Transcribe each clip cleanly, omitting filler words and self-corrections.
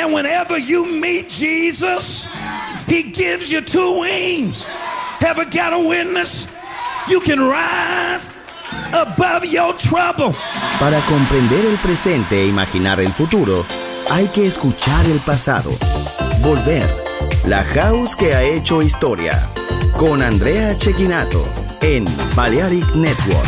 And whenever you meet Jesus, he gives you two wings. Ever got a witness? You can rise above your trouble. Para comprender el presente e imaginar el futuro, hay que escuchar el pasado. Volver. La house que ha hecho historia. Con Andrea Cecchinato en Balearic Network.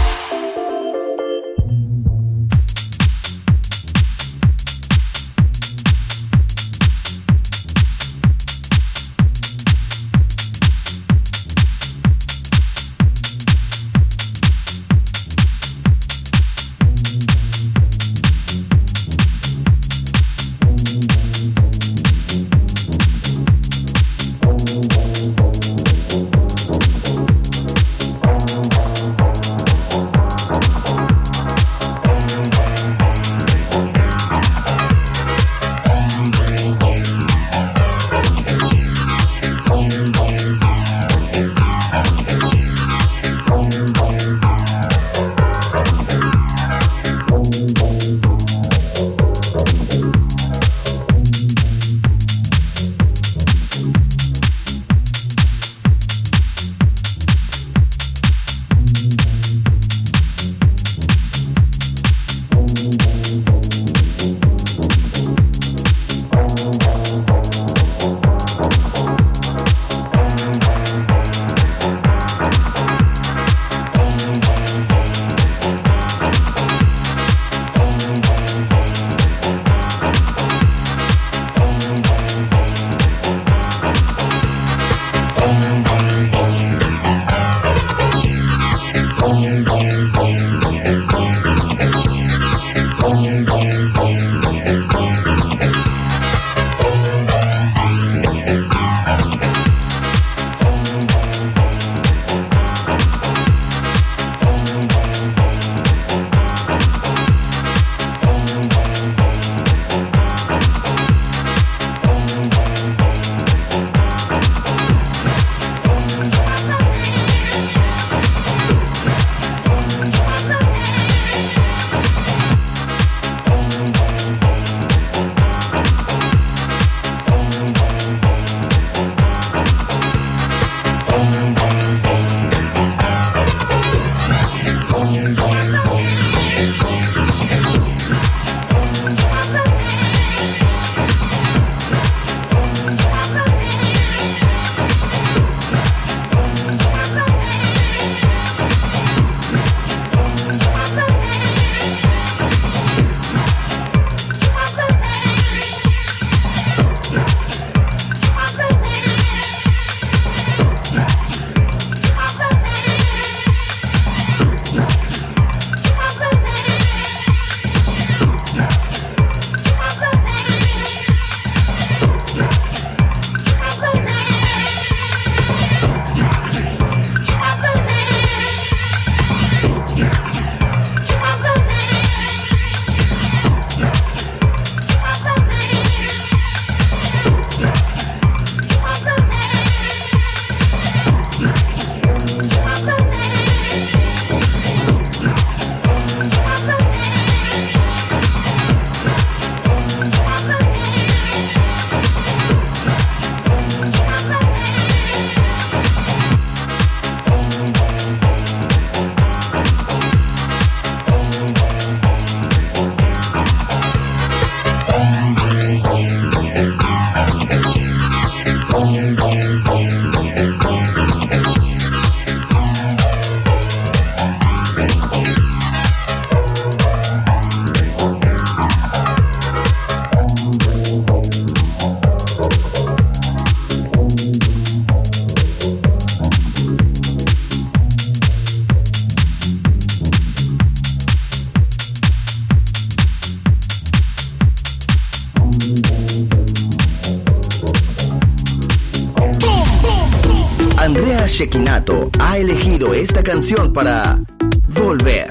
Andrea Cecchinato ha elegido esta canción para Volver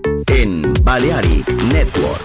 en Balearic Network.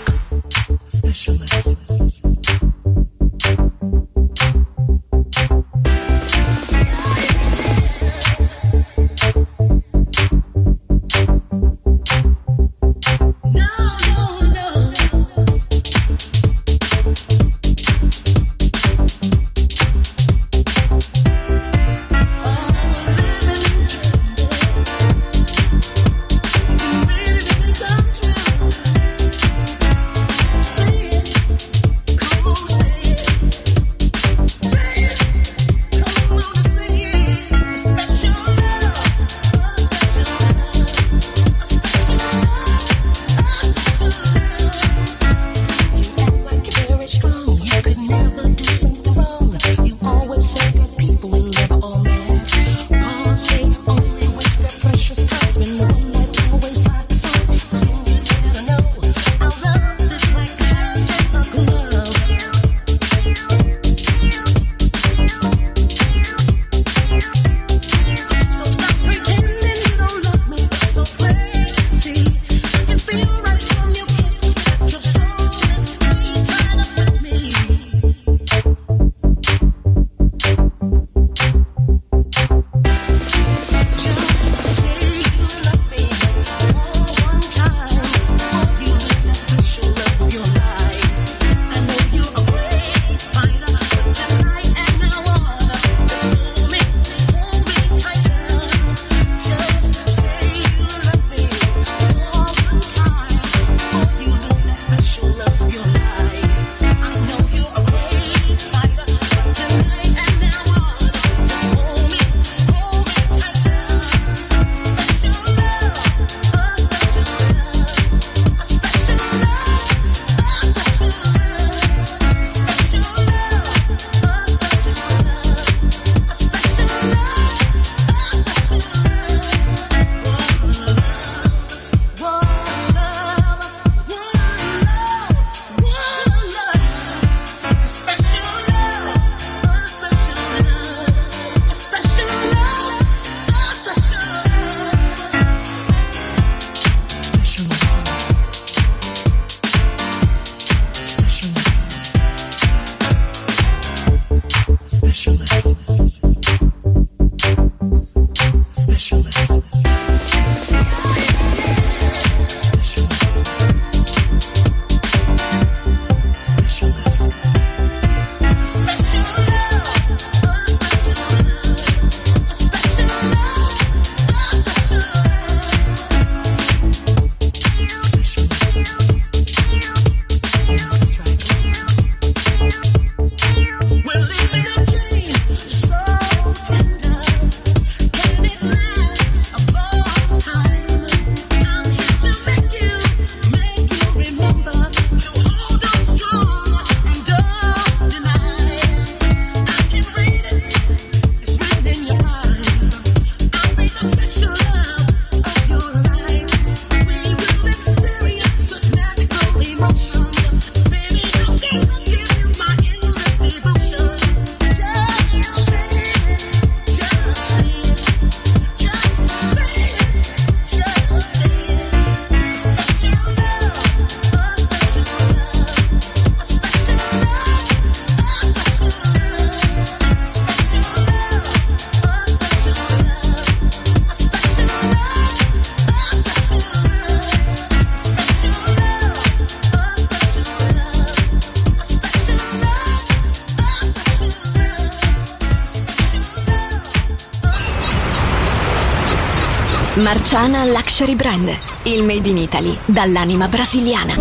Marciana Luxury Brand, il made in Italy dall'anima brasiliana.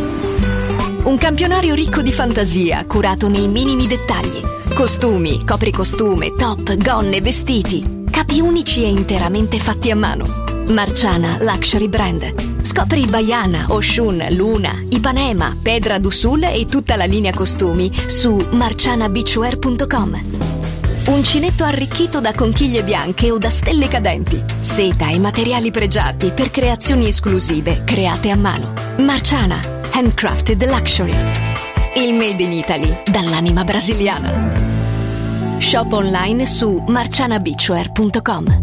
Un campionario ricco di fantasia, curato nei minimi dettagli. Costumi, copricostume, top, gonne, vestiti. Capi unici e interamente fatti a mano. Marciana Luxury Brand. Scopri Baiana, Oshun, Luna, Ipanema, Pedra do Sul e tutta la linea costumi su marcianabeachwear.com. Uncinetto arricchito da conchiglie bianche o da stelle cadenti. Seta e materiali pregiati per creazioni esclusive create a mano. Marciana, handcrafted luxury. Il made in Italy dall'anima brasiliana. Shop online su marcianabeachwear.com.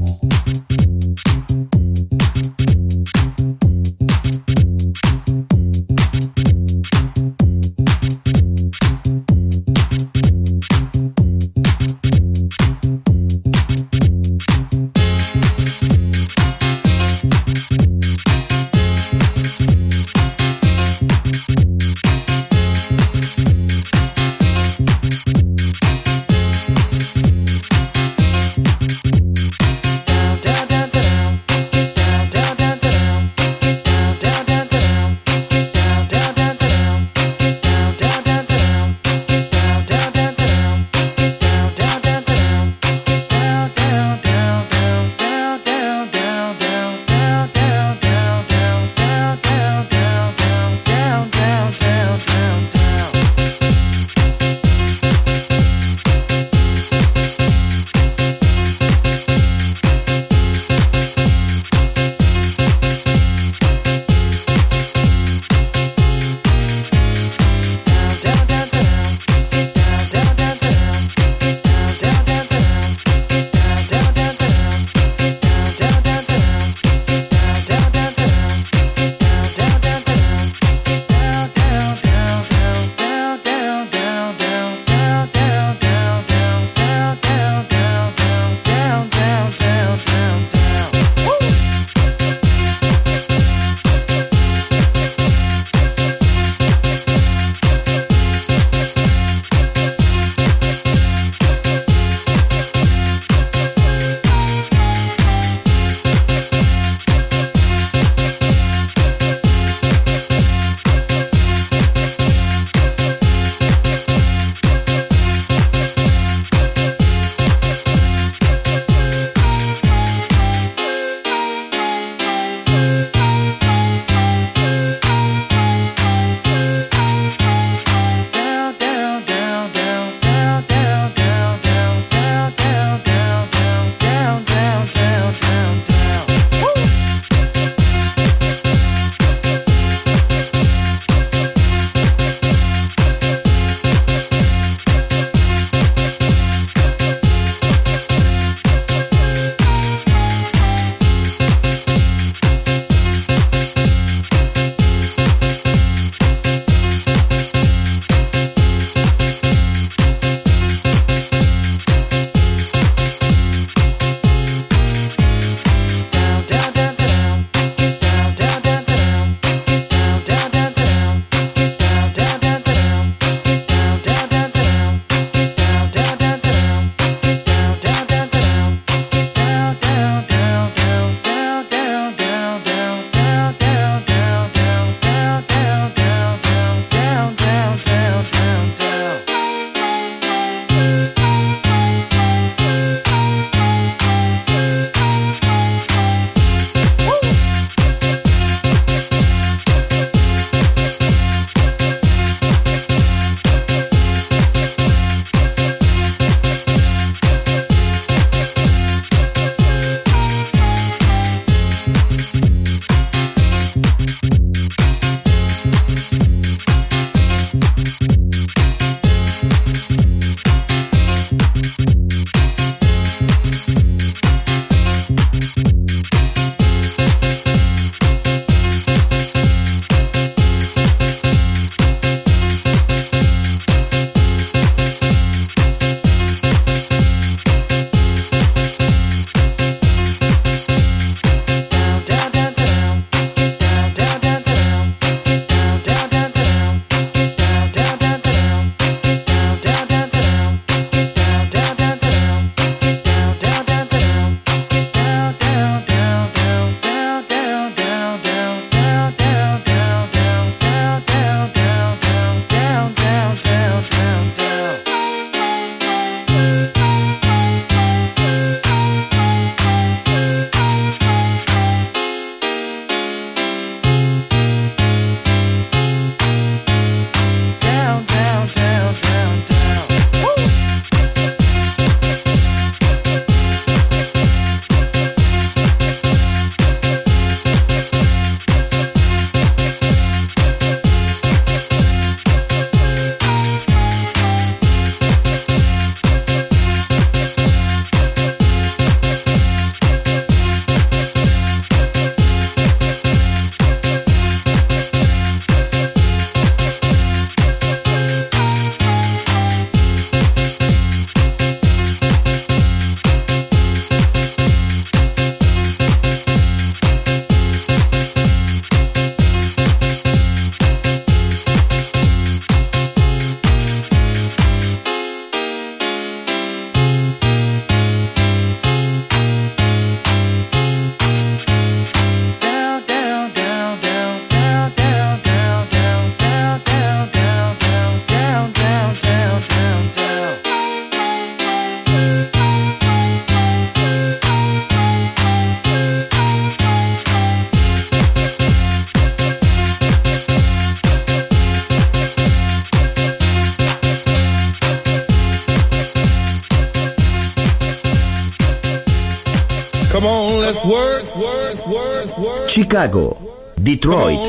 Chicago, Detroit,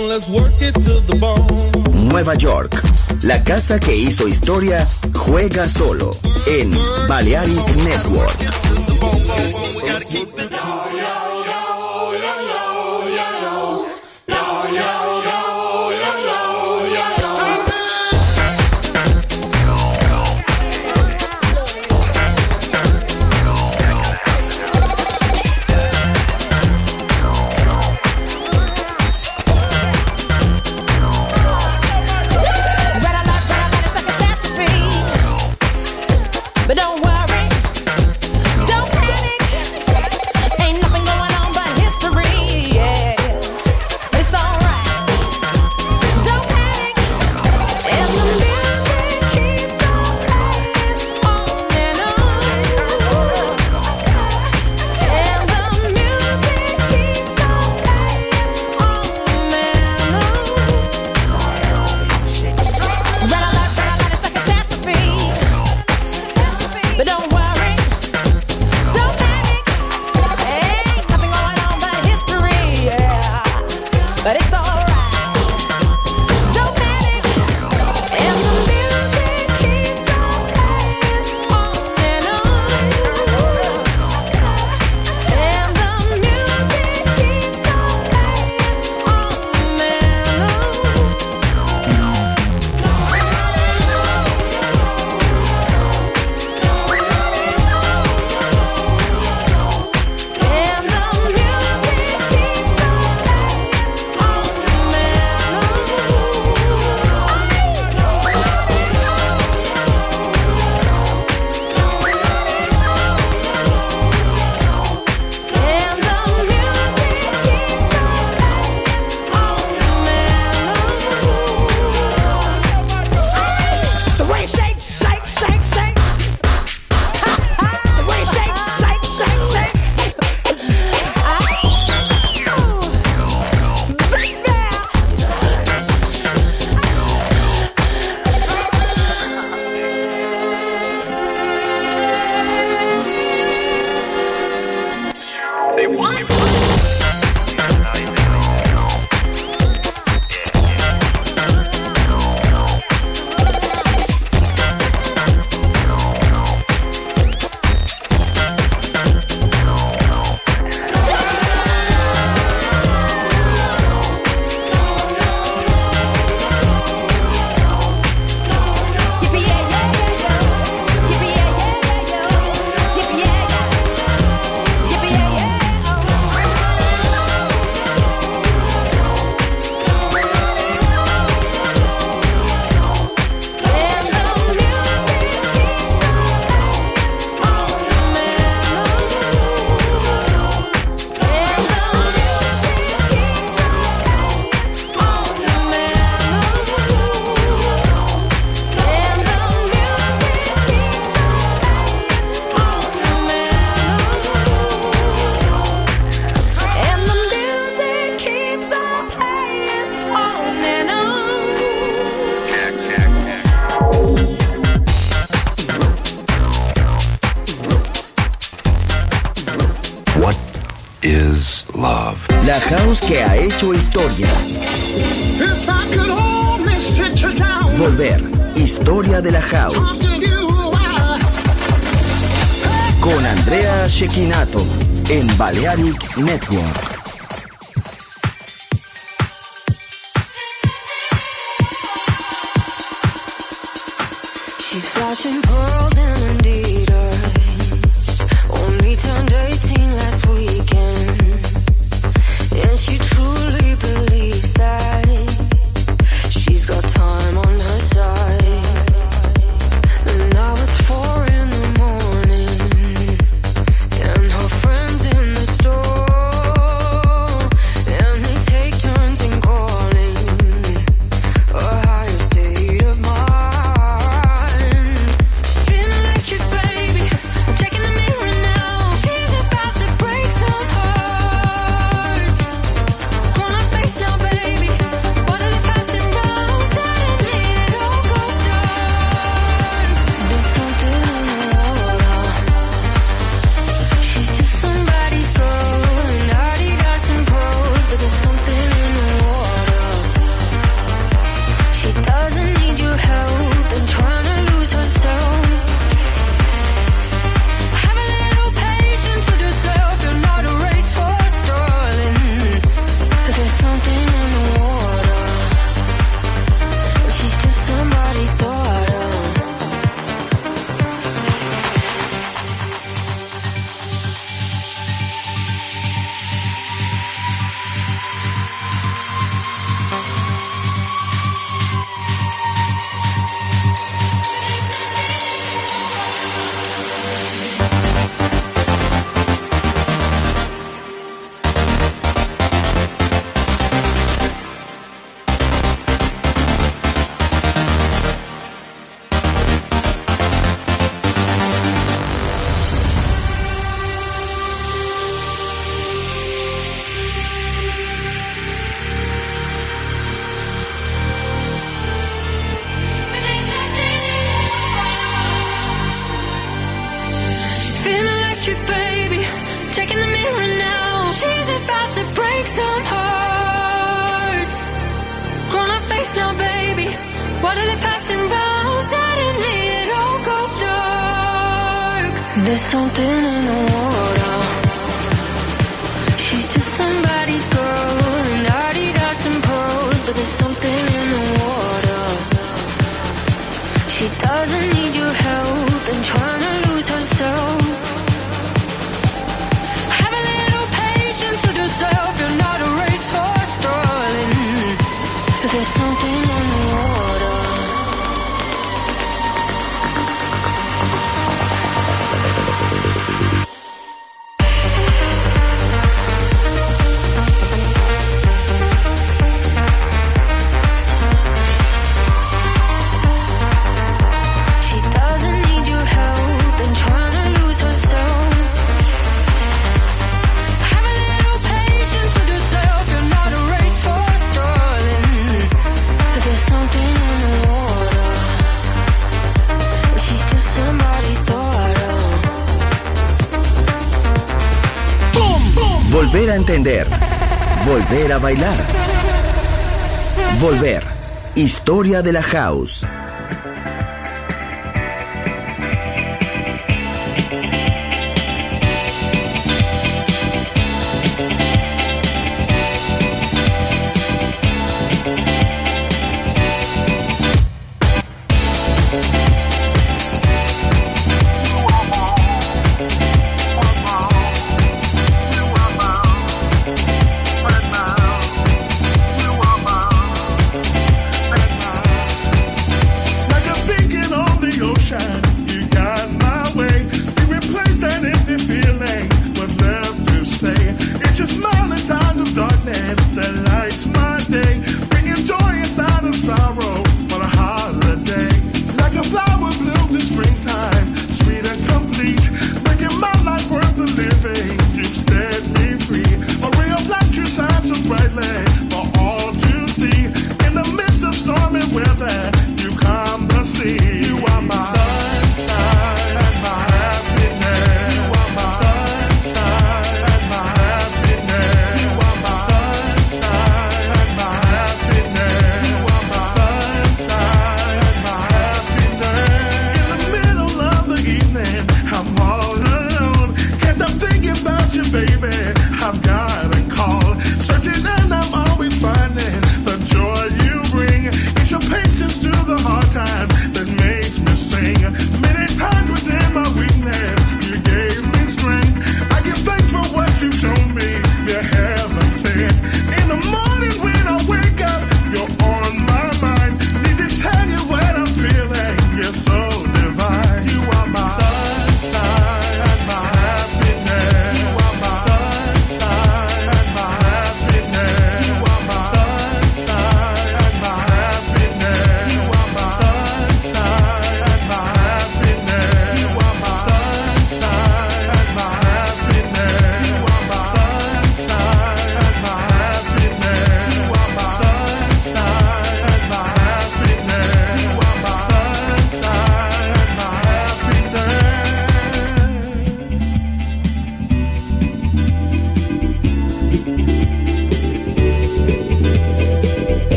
Nueva York. La casa que hizo historia juega solo en Balearic Network. La house que ha hecho historia. Volver, historia de la house. Con Andrea Cecchinato en Balearic Network. She's flashing pearls and Adidas. Only turned 18 last weekend. And she truly believes that she's got time on her side. And now it's 4 in the morning, and her friends in the store, and they take turns in calling a higher state of mind. She's feeling electric, baby. I'm checking the mirror now. She's about to break some hearts. On her face now, baby. What are the passing rounds? Suddenly it all goes dark. trick, baby. Check in the mirror now. She's about to break some hearts. On her face now, baby. What are they passing round? Suddenly it all goes dark. There's something in the water. She's just somebody's girl, and Adidas and pearls, but there's something in the water. She doesn't need your help and trying to lose herself. Have a little patience with yourself. You're not a racehorse, darling. There's something in the water. Volver a entender. Volver a bailar. Volver. Historia de la House.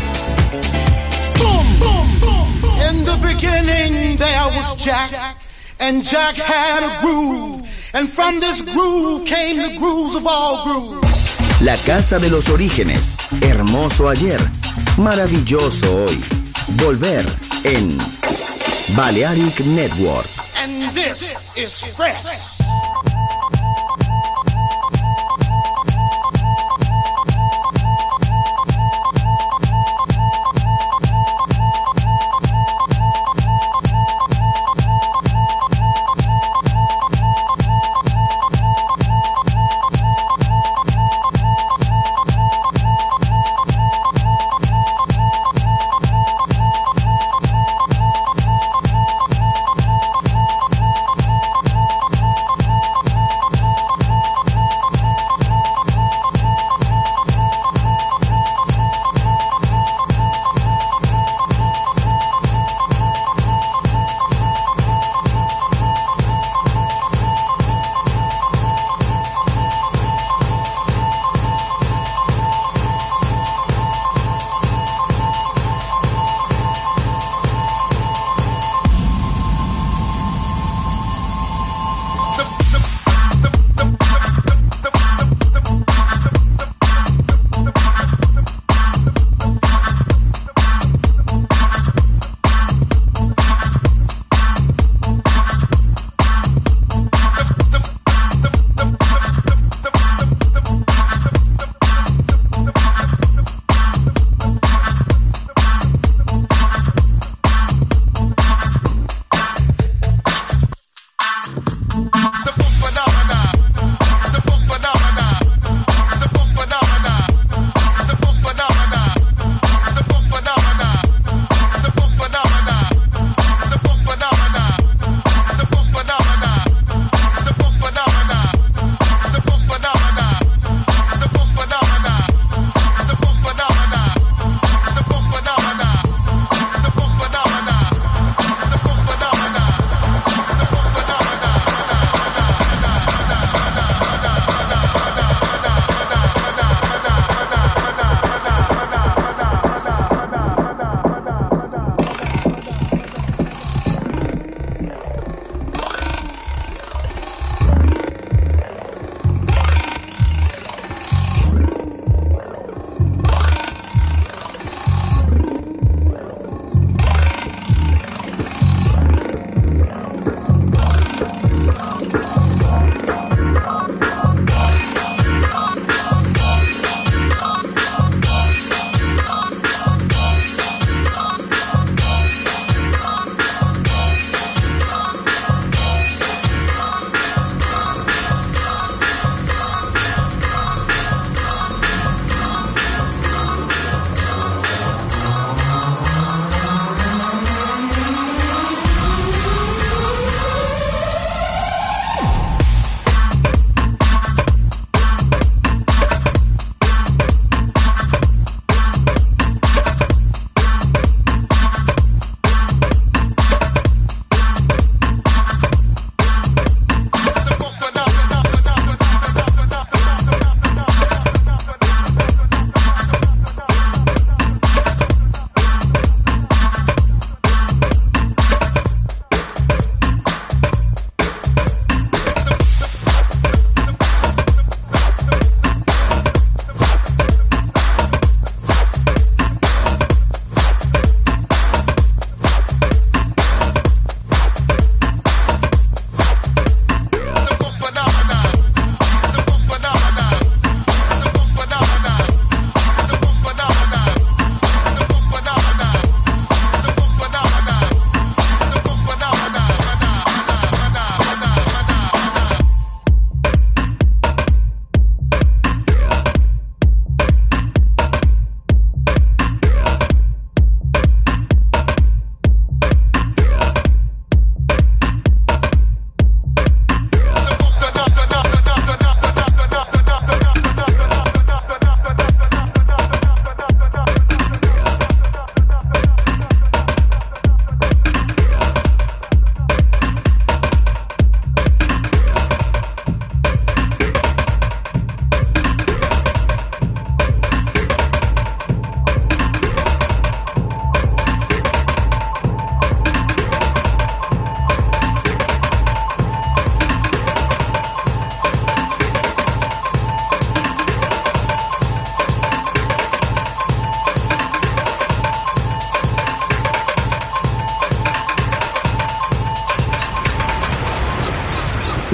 Jack, And Jack had a groove, and from this groove came the grooves of all grooves. La casa de los orígenes, hermoso ayer, maravilloso hoy. Volver en Balearic Network. And this is fresh.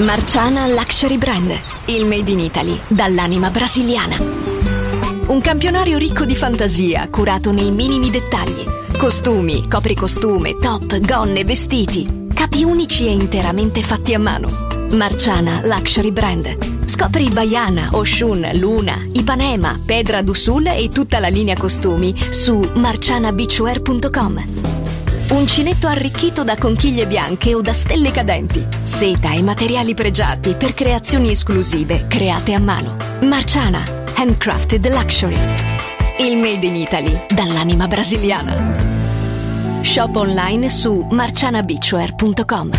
Marciana Luxury Brand, il made in Italy dall'anima brasiliana. Un campionario ricco di fantasia, curato nei minimi dettagli. Costumi, copricostume, top, gonne, vestiti. Capi unici e interamente fatti a mano. Marciana Luxury Brand. Scopri Baiana, Oshun, Luna, Ipanema, Pedra do Sul e tutta la linea costumi su marcianabeachwear.com. Uncinetto arricchito da conchiglie bianche o da stelle cadenti. Seta e materiali pregiati per creazioni esclusive create a mano. Marciana, handcrafted luxury. Il made in Italy dall'anima brasiliana. Shop online su marcianabeachwear.com.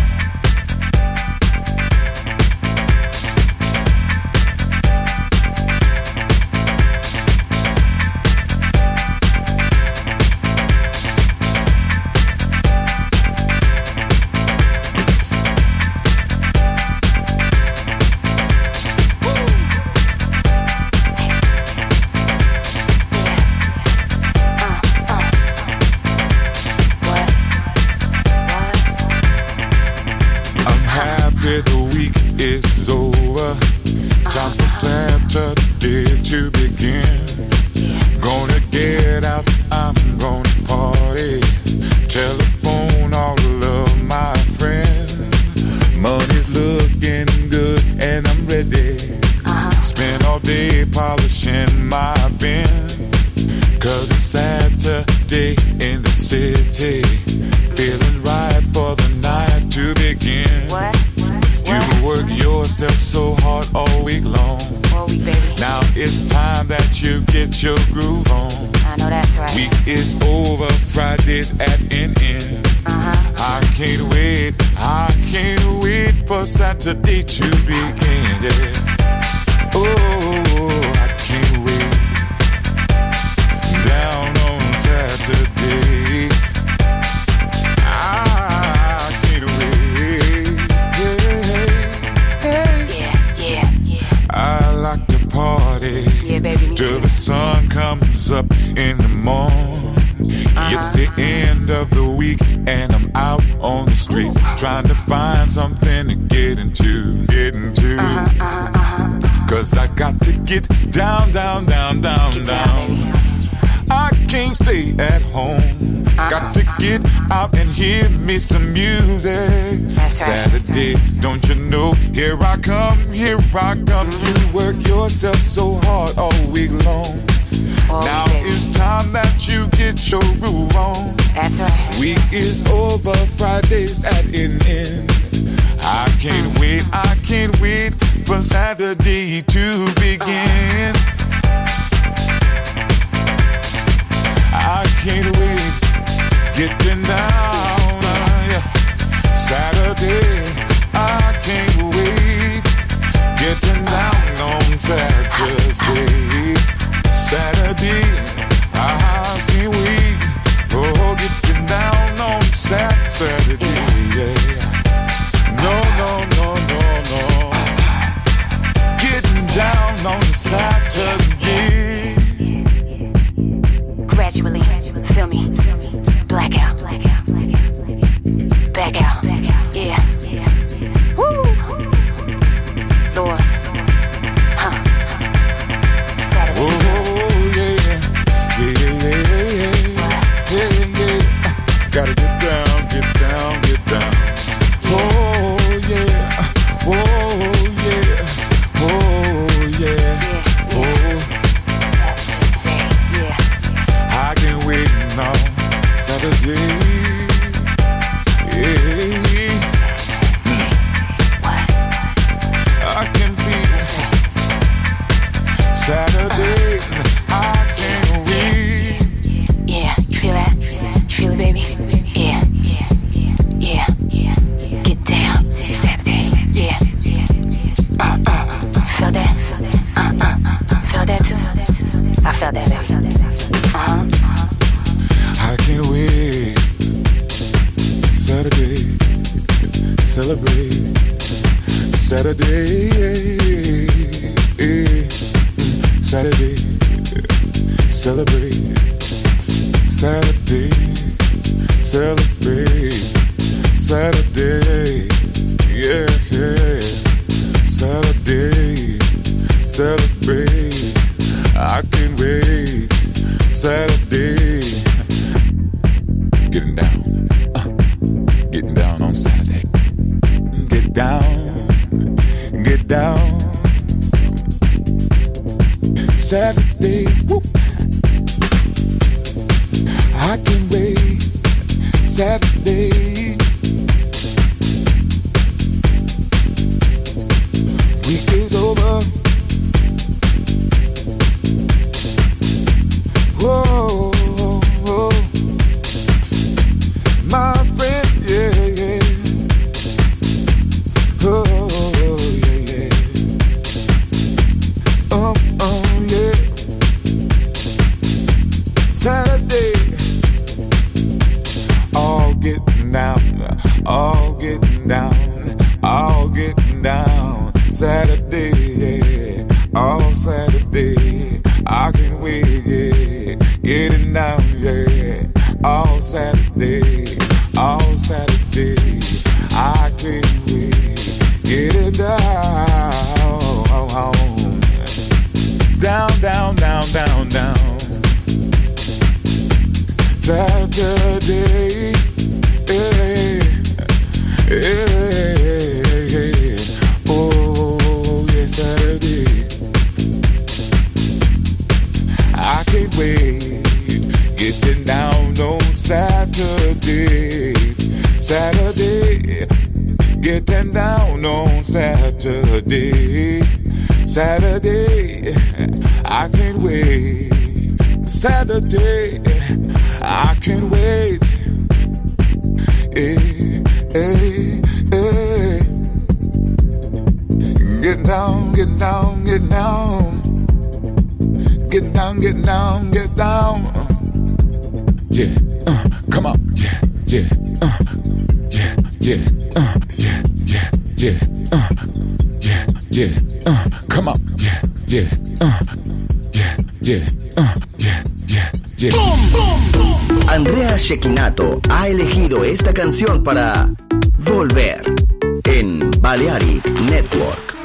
Saturday to begin, yeah. Oh, I can't wait. Down on Saturday, I can't wait. Yeah. I like to party, yeah, baby, till the sun comes up in the morning. It's the end of the week and I'm out on the street trying to find something to get into. Cause I got to get down. I can't stay at home. Got to get out and hear me some music. Saturday, don't you know? Here I come. You work yourself so hard all week long. Now it's time that you get your groove on. That's right. Week is over, Friday's at an end. I can't wait for Saturday to begin. I can't wait, getting down, Saturday, I can't wait, getting down on Saturday. Saturday, I can't wait. Oh, getting down on Saturday, yeah. No. Getting down on Saturday. Gradually, feel me, black out, back out, yeah. Woo! Lord, Saturday. Oh, yeah. Gotta get down. Oh, yeah. Saturday, yeah. I can't wait now. Saturday. Yeah. I can be Saturday. I can't wait. Yeah, you feel that? You feel it, baby? Yeah. Get down, Saturday. Yeah. Feel that? Feel that too? I felt that, baby. I can't wait. Saturday, celebrate. Saturday, Saturday, celebrate. Saturday, celebrate. Saturday, yeah. celebrate. I can't wait. Saturday, getting down on Saturday. Get down. Saturday, whoop. I can't wait. Saturday. Week is over. Whoa, whoa. My friend, yeah. Oh, yeah. Yeah. Saturday, all getting down. Saturday, yeah. All Saturday, I can't wait, yeah. Getting down, yeah. All Saturday, I can't wait. Getting down. Down. Saturday, oh yeah, Saturday. I can't wait. Getting down on Saturday, getting down on Saturday, I can't wait. Saturday, I can't wait. Get down. Yeah, come on. Yeah. Come on. Yeah. Boom, boom, boom. Andrea Cecchinato ha elegido esta canción para Volver en Balearic Network.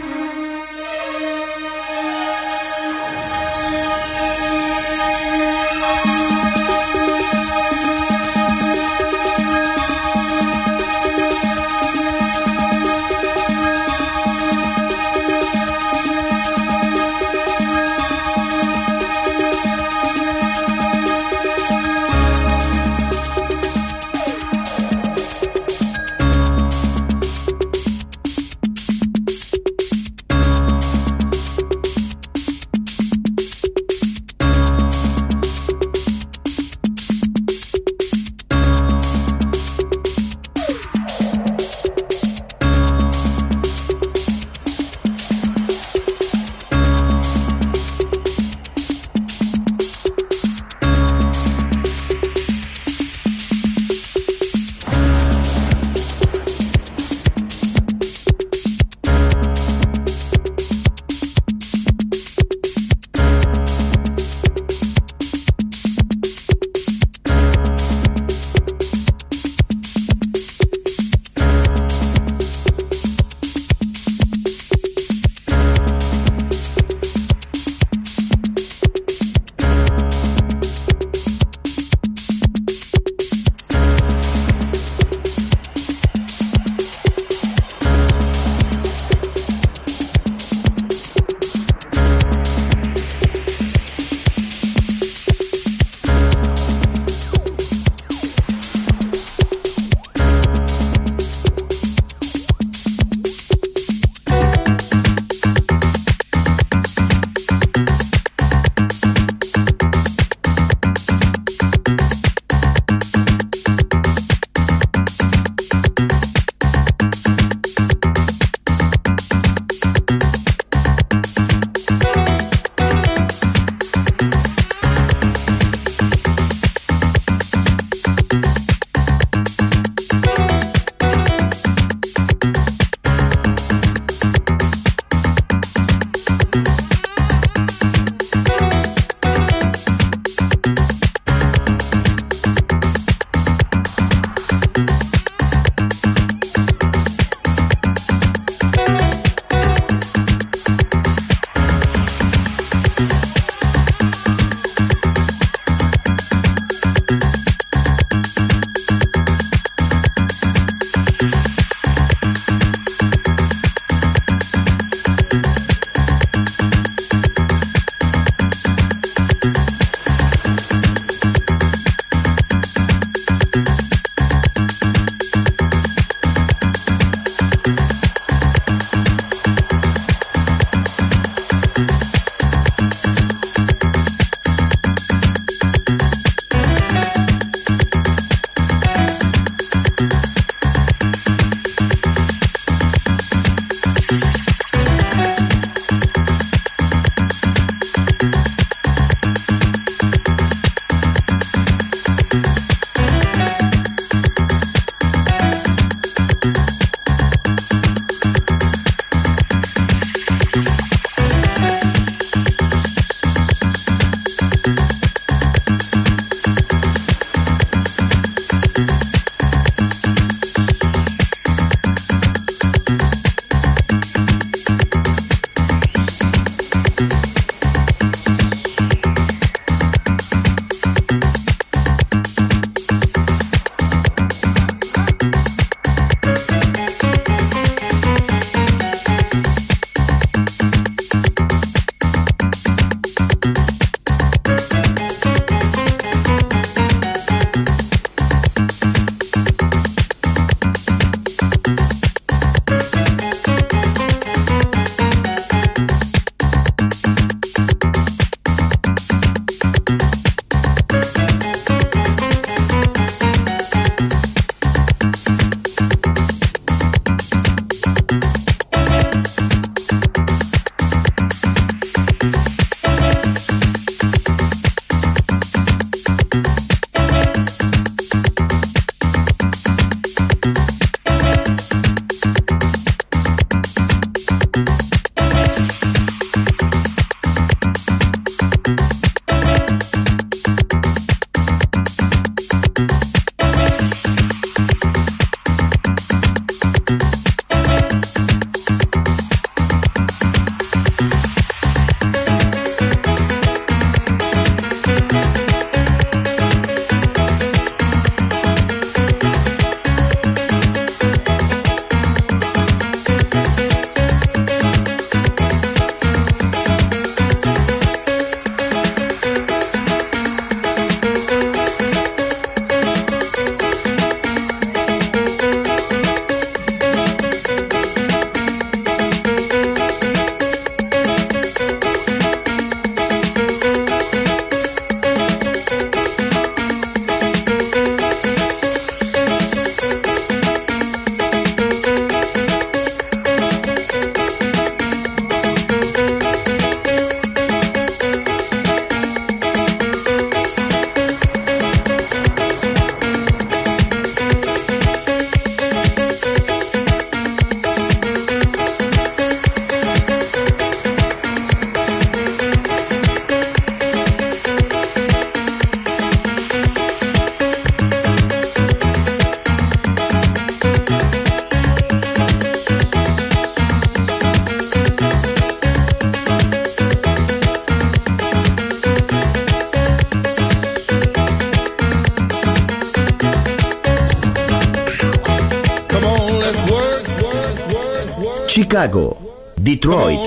Chicago, Detroit,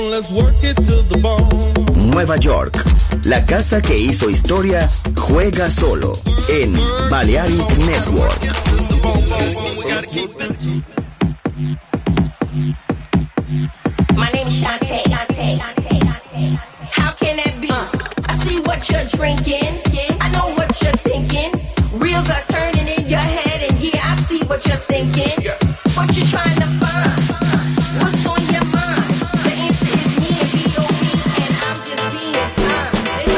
Nueva York. La casa que hizo historia juega solo en Balearic Network. My name is Shantae. How can that be? I see what you're drinking. I know what you're thinking. Reels are turning in your head, and yeah, I see what you're thinking. What you trying to find? What's on your mind? The answer is me and B.O.B. and I'm just being kind.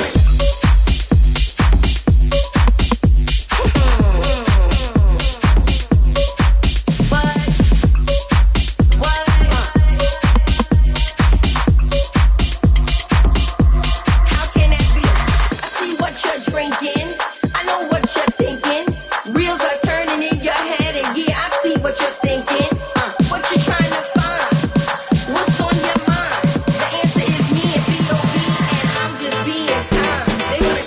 How can that be? I see what you're drinking. I know what you're thinking. Reels are turning in your head, and yeah, I see what you're thinking. What you trying to find? What's on your mind? The answer is me and B.O.B. and I'm just being kind. They wanna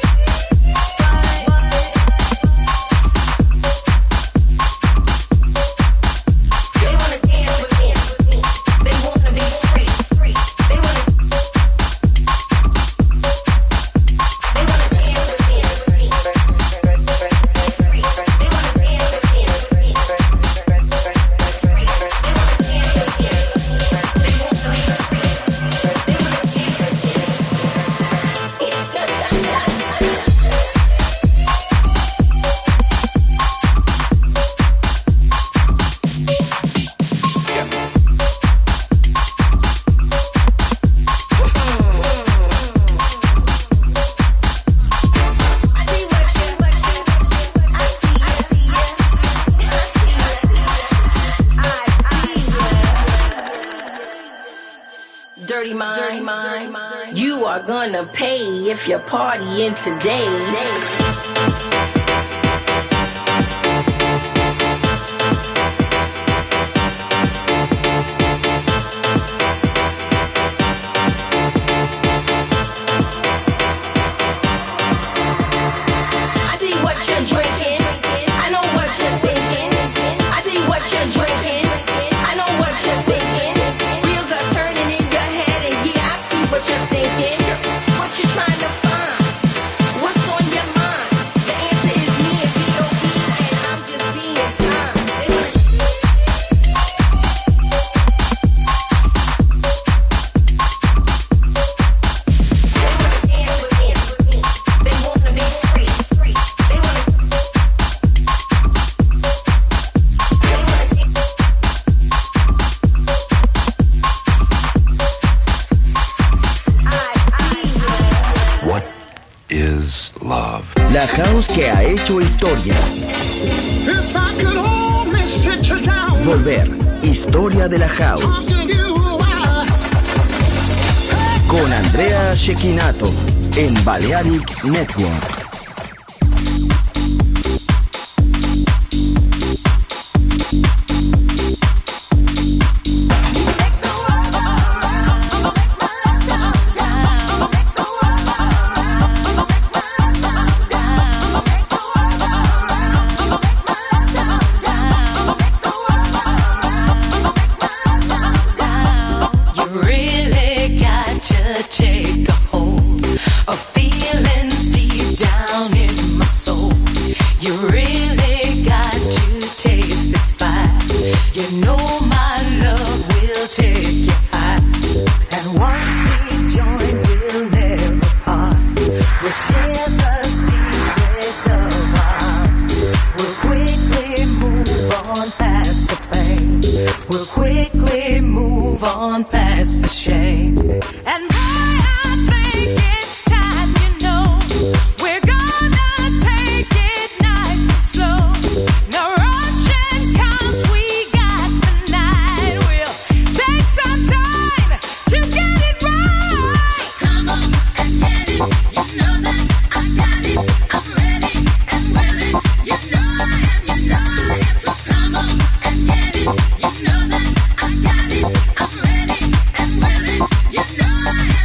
dance with me. They wanna be free. They wanna dance with me. They wanna dance with me. They wanna Dirty mind, you are gonna pay if you're partying today. I see what you're drinking. I know what you're thinking. I see what you're drinking. I know what you're thinking. Wheels are turning in your head, and yeah, I see what you're thinking. What you trying to find? What's on your mind? The answer is me and B.O.B. and I'm just being kind. They wanna dance with me. They wanna be free. They wanna What is love? La house que ha hecho historia. If I could only sit you down, Volver. Historia de la house. talking you why. Con Andrea Cecchinato en Balearic Network. You really got to take a hold of feelings deep down in my soul. You really got to taste this fire. You know my love will take you high. And once we join, we'll never part. We'll share the secrets of our hearts. We'll quickly move on past the pain. We'll quickly move on past the shame. And boy, I think it's time, you know, we're gonna take it nice and slow. No rushing 'cause we got the night. We'll take some time to get it right. So come on and get it. You know that I got it. I'm ready and willing. You know I am. So come on and get it. You know that I got it. I'm ready and willing. You know I am.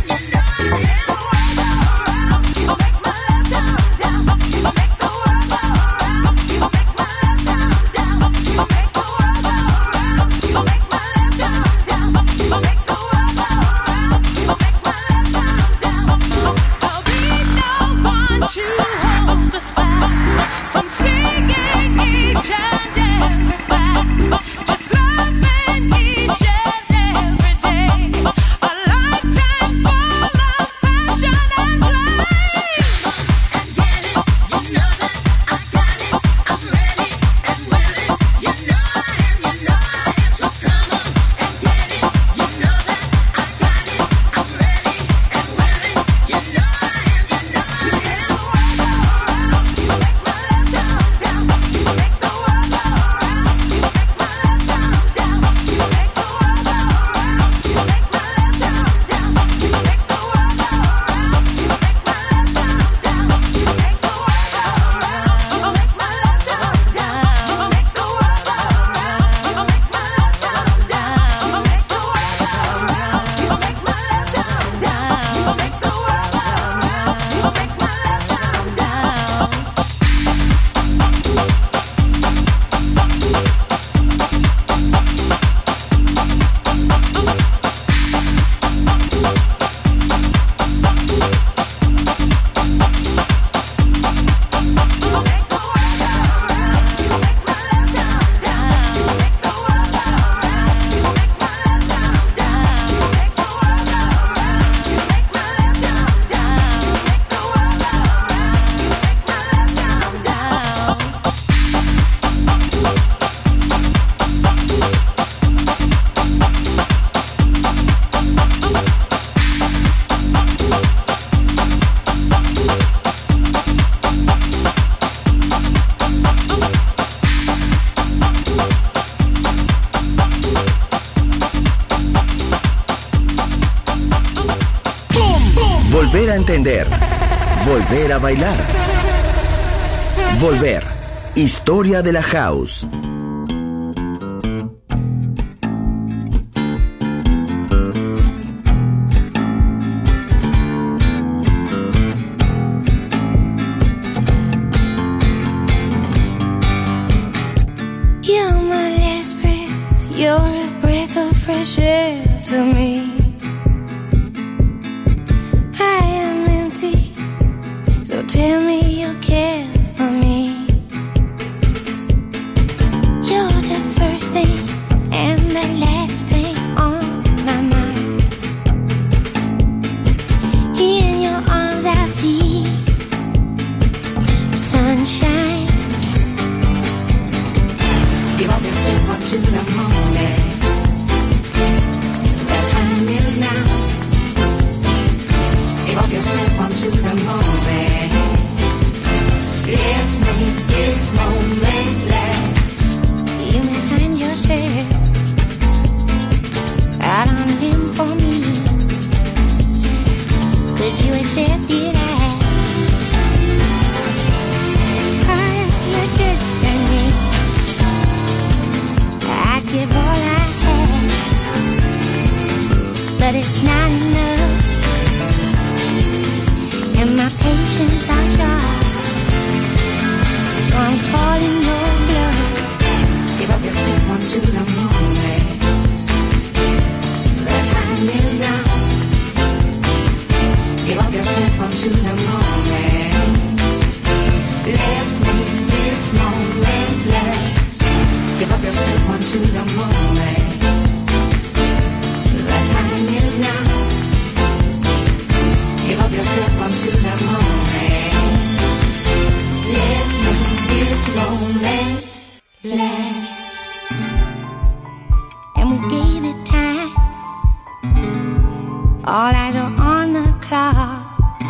volver a entender, volver a bailar. Volver. Historia de la House. You're my last breath, you're a breath of fresh air to me. I am empty, so tell me you care for me. You're the first thing and the last thing on my mind. In your arms I feel sunshine. Give up yourself up to the moment. The time is now. Give up yourself up to the moment. Let's make this moment last. You may find yourself out on a limb for me. Could you accept it as part of your destiny? I'd give all I have, but it's not enough, and my patience are short. So I'm calling your bluff. Give up yourself onto the moment. The time is now. Give up yourself onto the moment. Let's make this moment last. Give up yourself onto the moment. The time is now. Give up yourself onto the moment. Let's make this moment last. And we gave it time. All eyes are on the clock.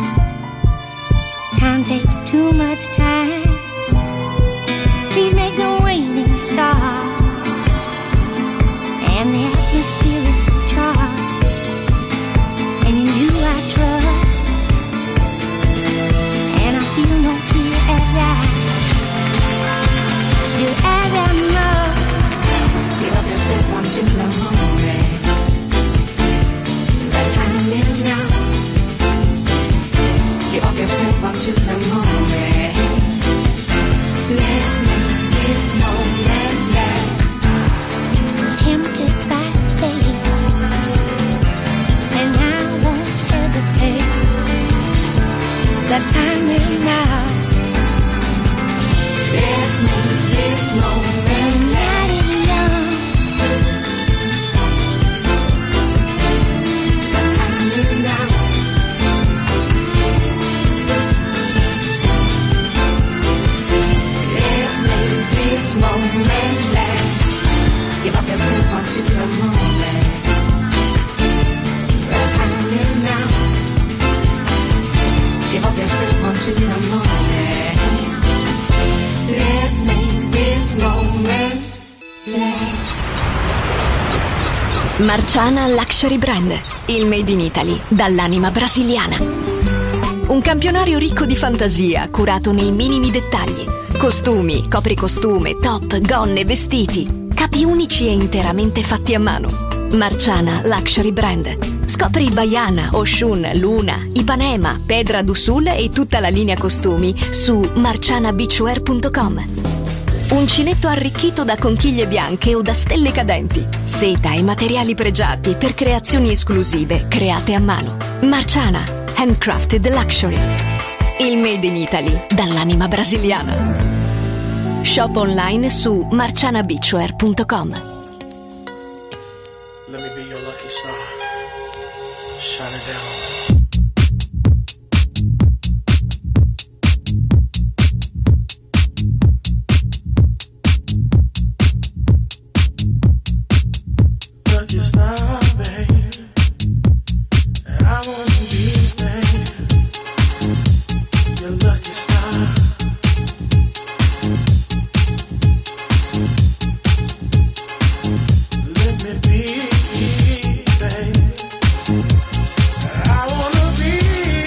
Time takes too much time. Please make the waiting stop. And the atmosphere is charged. And in you I trust. And I feel no fear as I do as I must. Give up yourself onto the moment. The time is now. Give up yourself onto the moment. Let's make this moment last. Tempted by fate, and I won't hesitate. The time is now. Let's make this moment last. The time is now. Let's make this moment last. Give up yourself onto the moment. The time is now. Give up yourself onto the moment. Let's make this moment last. Marciana Luxury Brand, il made in Italy dall'anima brasiliana. Un campionario ricco di fantasia, curato nei minimi dettagli. Costumi, copricostume, top, gonne, vestiti. Capi unici e interamente fatti a mano. Marciana Luxury Brand. Scopri Baiana, Oshun, Luna, Ipanema, Pedra do Sul e tutta la linea costumi su marcianabeachwear.com. Uncinetto arricchito da conchiglie bianche o da stelle cadenti. Seta e materiali pregiati per creazioni esclusive create a mano. Marciana, handcrafted luxury. Il made in Italy dall'anima brasiliana. Shop online su marcianabeachwear.com. Let me be your lucky star. Shine it down. Lucky star, babe. And I want to be, babe. Your lucky star. Let me be, babe. I wanna be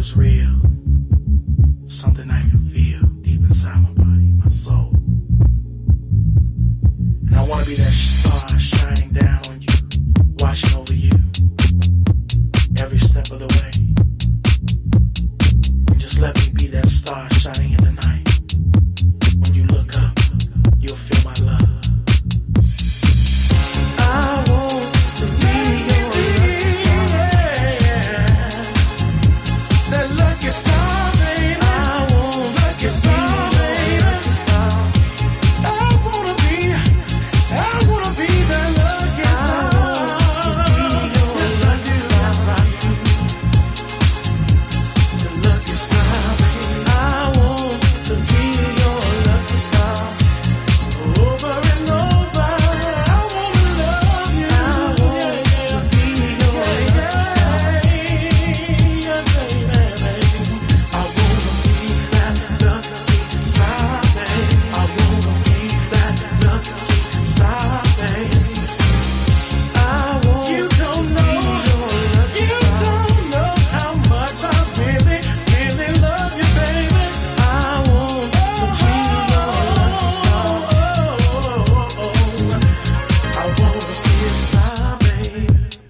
was real. Something I can feel deep inside my body, my soul. And I wanna be that star shining down on you, watching over you every step of the way. And just let me be that star shining in the night. When you look up, you'll feel my love. I want to be your lucky star. That lucky star, baby. I want lucky star, baby. Lucky star. I wanna be that lucky star. Yes, I do. Yes, I do. The lucky star, baby. I want to be your lucky star. Over and over, I wanna love you. I want to be your lucky star. Yeah, baby. I wanna be that lucky star, baby. I wanna be that lucky star, baby. I want you don't know, you don't know how much I really, really love you, baby. I want to be your lucky star. I wanna be a star, baby.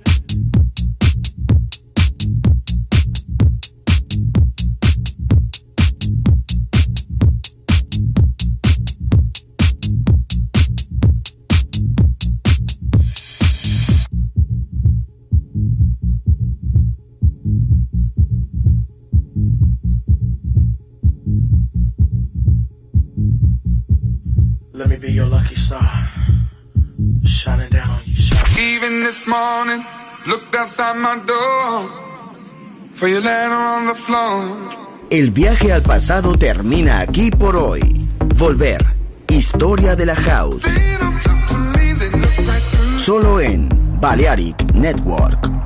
Let me be your lucky star, shining down on you, shining. Even this morning, looked outside my door for your letter on the floor. El viaje al pasado termina aquí por hoy. Volver. Historia de la House. Solo en Balearic Network.